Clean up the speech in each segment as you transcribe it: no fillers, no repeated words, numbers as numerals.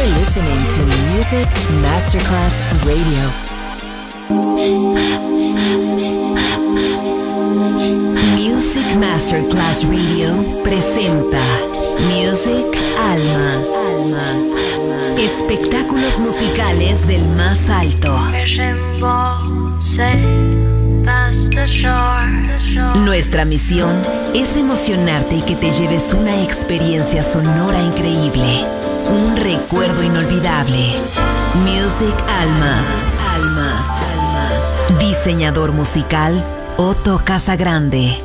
listening to Music Masterclass Radio. Music Masterclass Radio presenta Music Alma. Espectáculos musicales del más alto. Nuestra misión es emocionarte y que te lleves una experiencia sonora increíble, un recuerdo inolvidable. Music Alma. Diseñador musical Otto Casagrande.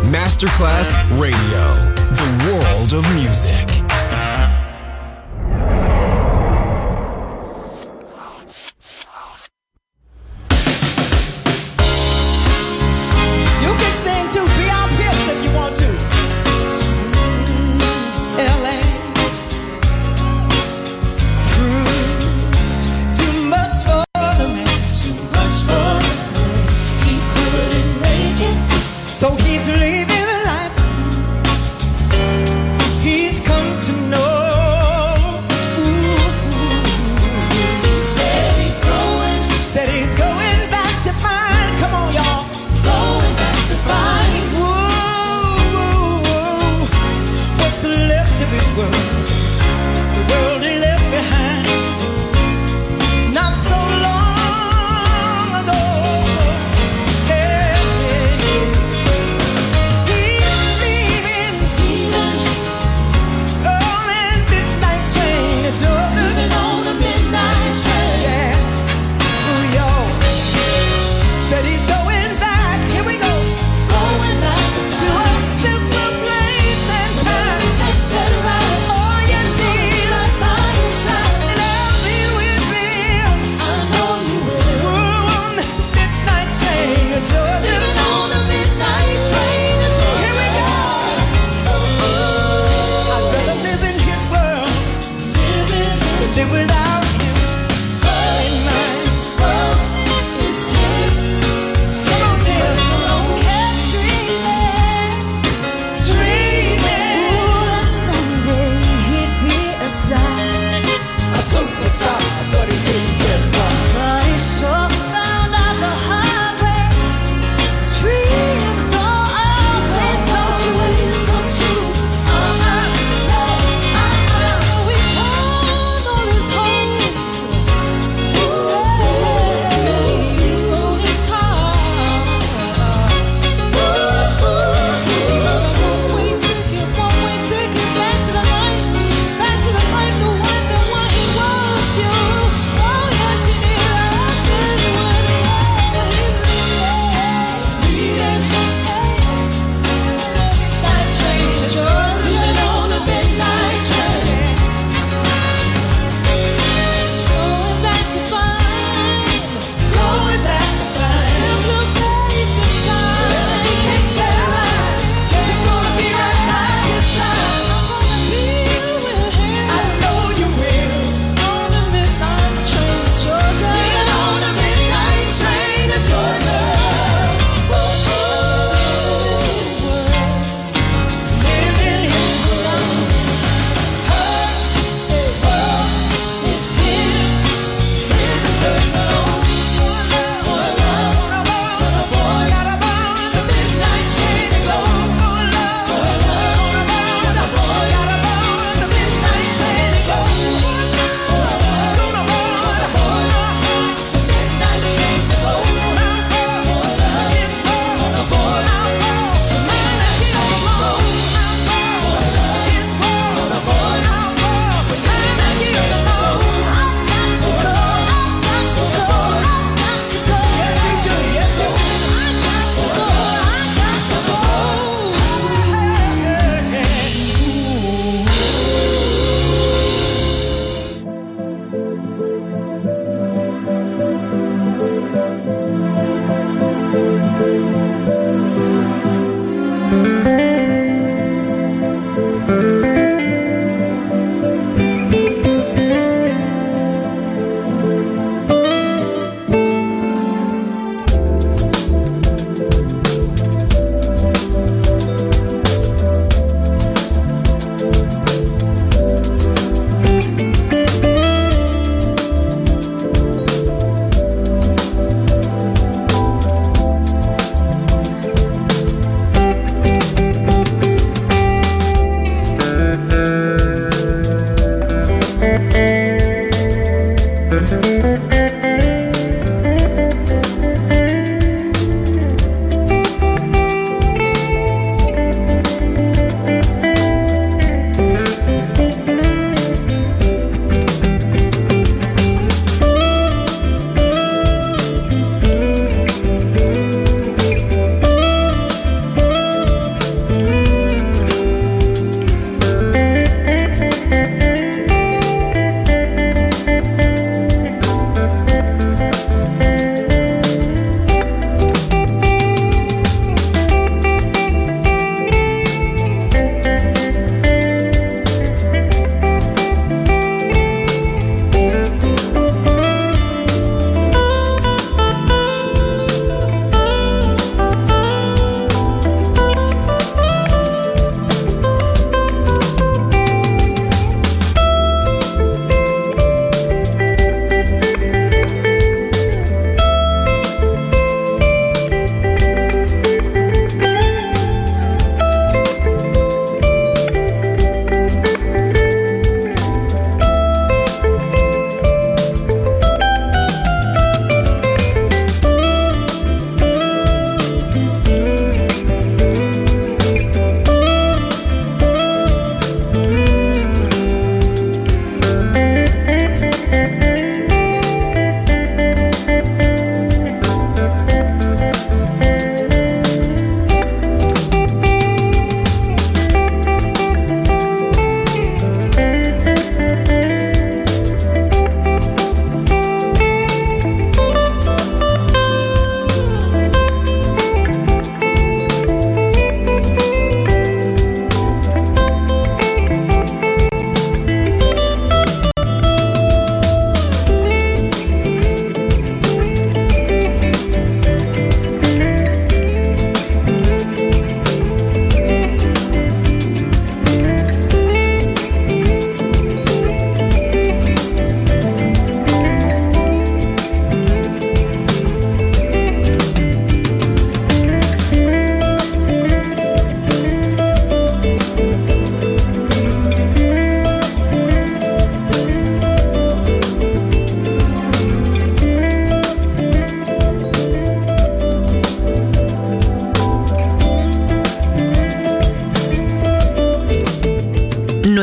Masterclass Radio, the world of music. You can sing to Beyond Pips if you want to. LA. Too much for the man. Too much for the man. He couldn't make it. So he's leaving the life he's come to know. He said he's going back to find. Come on, y'all. Going back to find. What's left of his world? The world he left behind. Not so long ago. Hey, hey, hey. He's leaving on a midnight train to Georgia. Leaving on a midnight train. Yeah. Ooh, y'all. Said he's going back. Here we go. Going back to a simple place and time. Oh, yes, he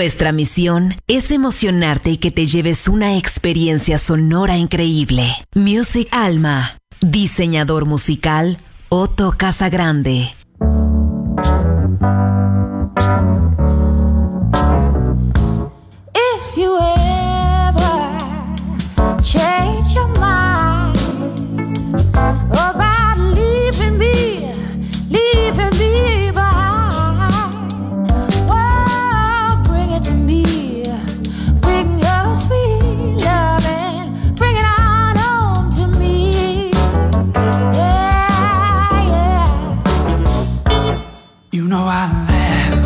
Nuestra misión es emocionarte y que te lleves una experiencia sonora increíble. Music Alma. Diseñador musical, Otto Casagrande. If you ever change your mind about leaving me behind, well, bring it to me. Bring your sweet love and bring it on home to me. Yeah, yeah. You know I laugh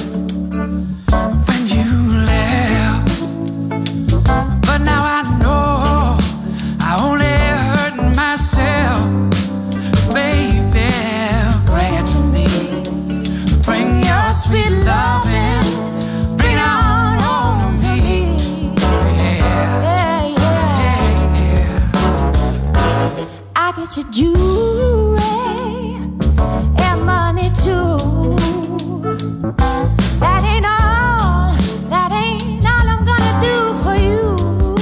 when you laugh, but now I know I only hurt myself. Baby, bring it to me. Bring your sweet love and bring it on home to me. Yeah, Yeah, yeah. yeah. I get your jewelry and money too. That ain't all I'm gonna do for you.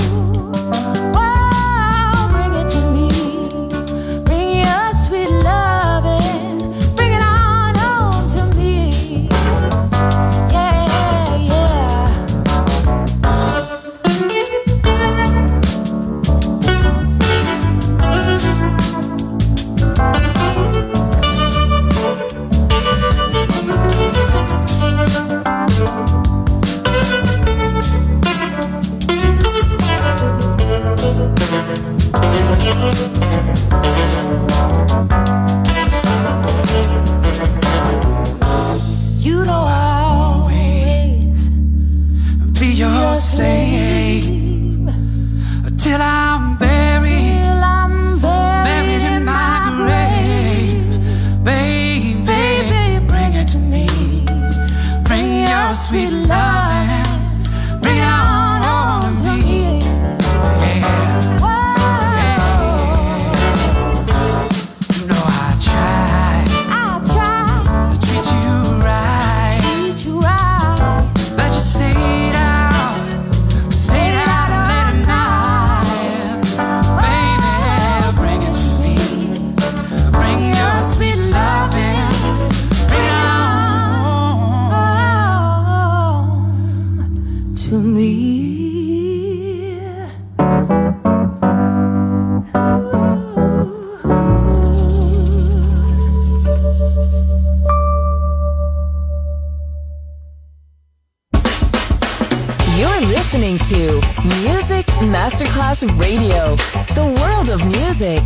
Oh, bring it to me. Bring your sweet love and bring it on home to me. Yeah, yeah. You don't always Be your slave till I'm buried. till I'm Buried in my grave. Baby, bring it to me. Bring your sweet love and bring it on home to me. Yeah. You know I try to treat you right, but you stayed out late at night. Baby, bring it to me. Bring your sweet love and bring it on to me. You're listening to Music Masterclass Radio, the world of music.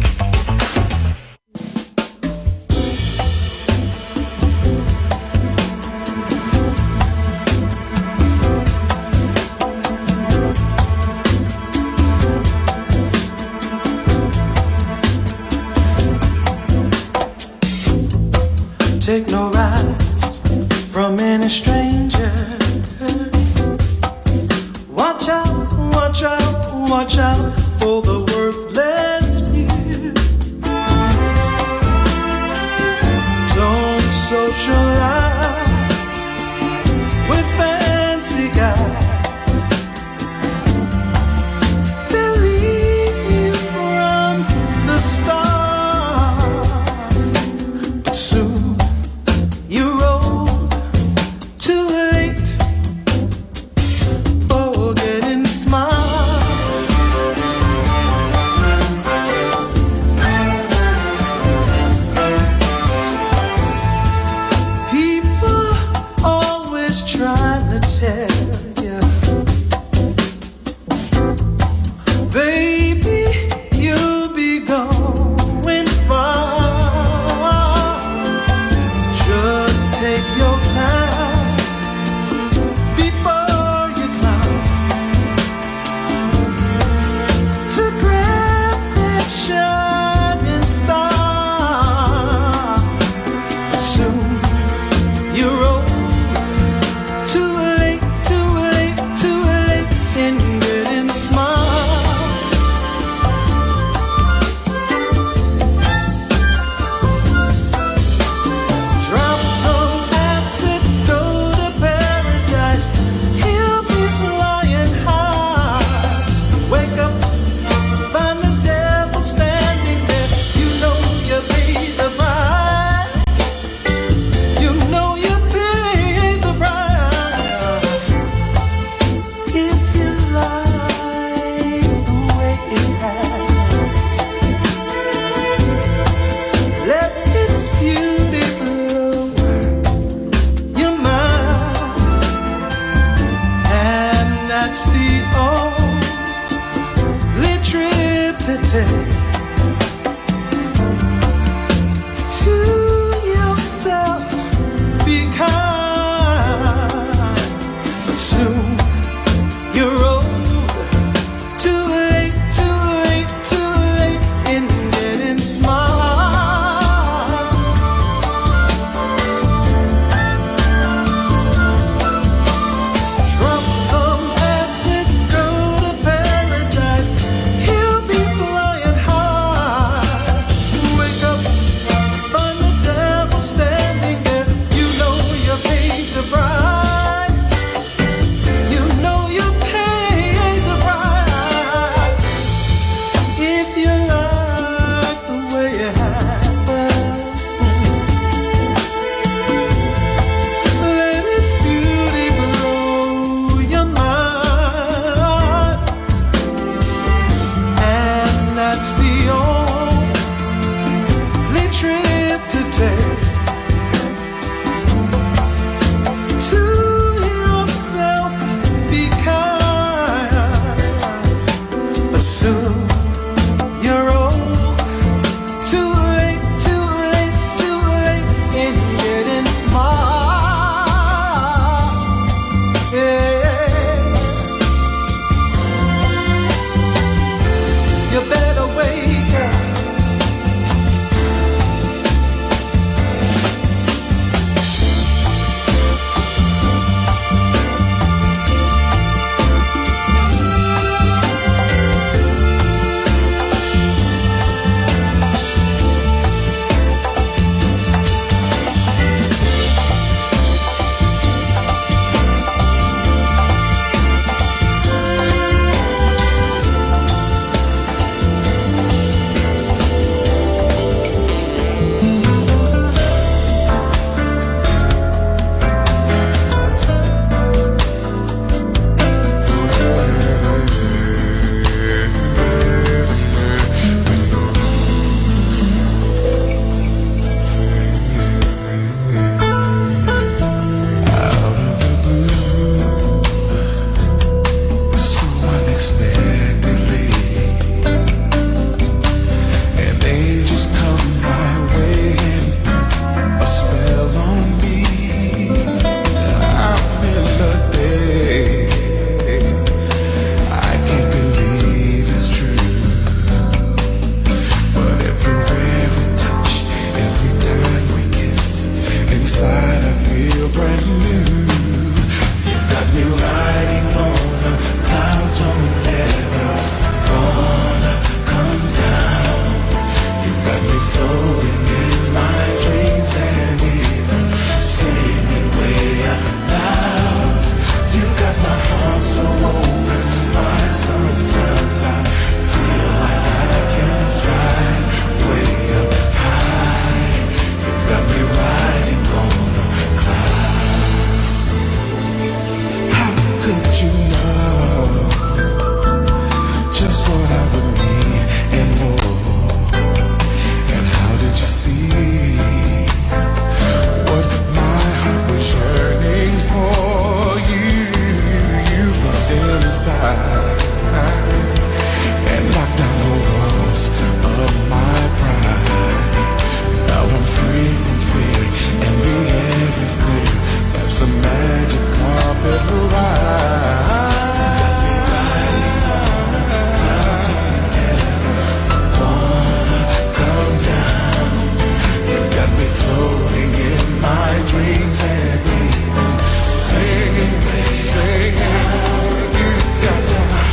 Take no rides from any stranger. Watch out, watch out, watch out for the worthless few. Don't socialize with fancy guys. They'll leave you from the start. But soon you roll too late for getting smart. that's the only trip to take. To yourself, be kind. But soon you're old. Too late, too late, too late in getting smart. Drop some acid, go to paradise. He'll be flying high. Wake up, find the devil standing there. You know you paid the price. You know you paid the price. If you like the way it happens, let its beauty blow your mind. And that's the only trip to take. To yourself, be kind. But soon you're old. Too late, too late, too late in getting smart. Yeah. You better wake up. So unexpectedly, and they just come my way and put a spell on me. I'm in the daze. I can't believe it's true. But everywhere we touch, every time we kiss, inside I feel brand new. You've got me riding on a cloud, don't ever wanna come down. You've got me floating in my dreams and even singing way out loud. You've got my heart so open wide, sometimes I feel like I can fly way up high. You've got me riding on a cloud. How could you know just what I would need and more? And how did you see what my heart was yearning for? You looked inside and knocked down the walls of my pride. Now I'm free from fear and the air is clear. That's a magic carpet ride. Wanna come down. You've got me floating in my dreams and even singing. You've got my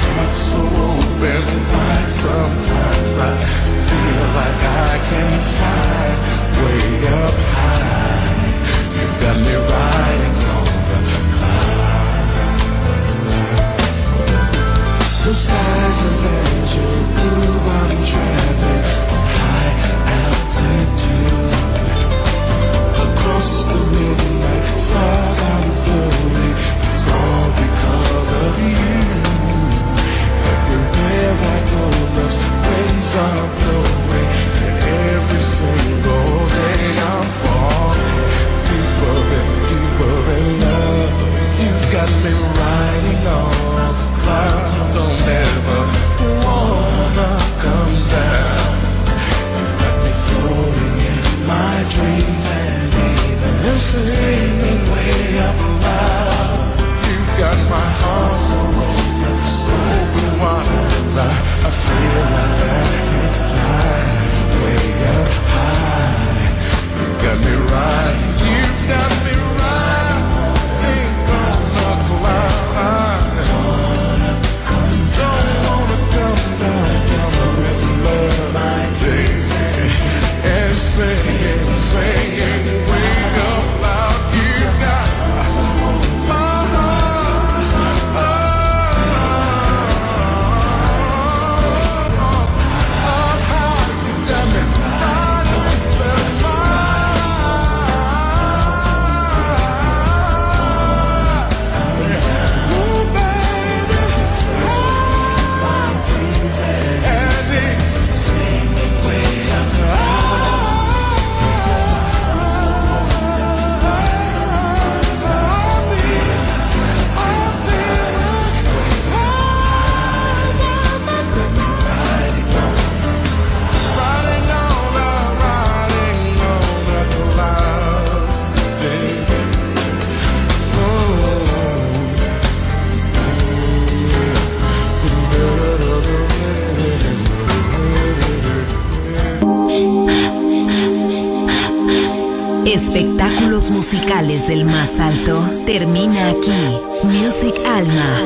espectáculos musicales del más alto termina aquí. Music Alma.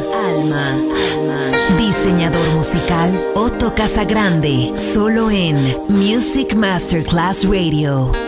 Diseñador musical Otto Casagrande, solo en Music Masterclass Radio.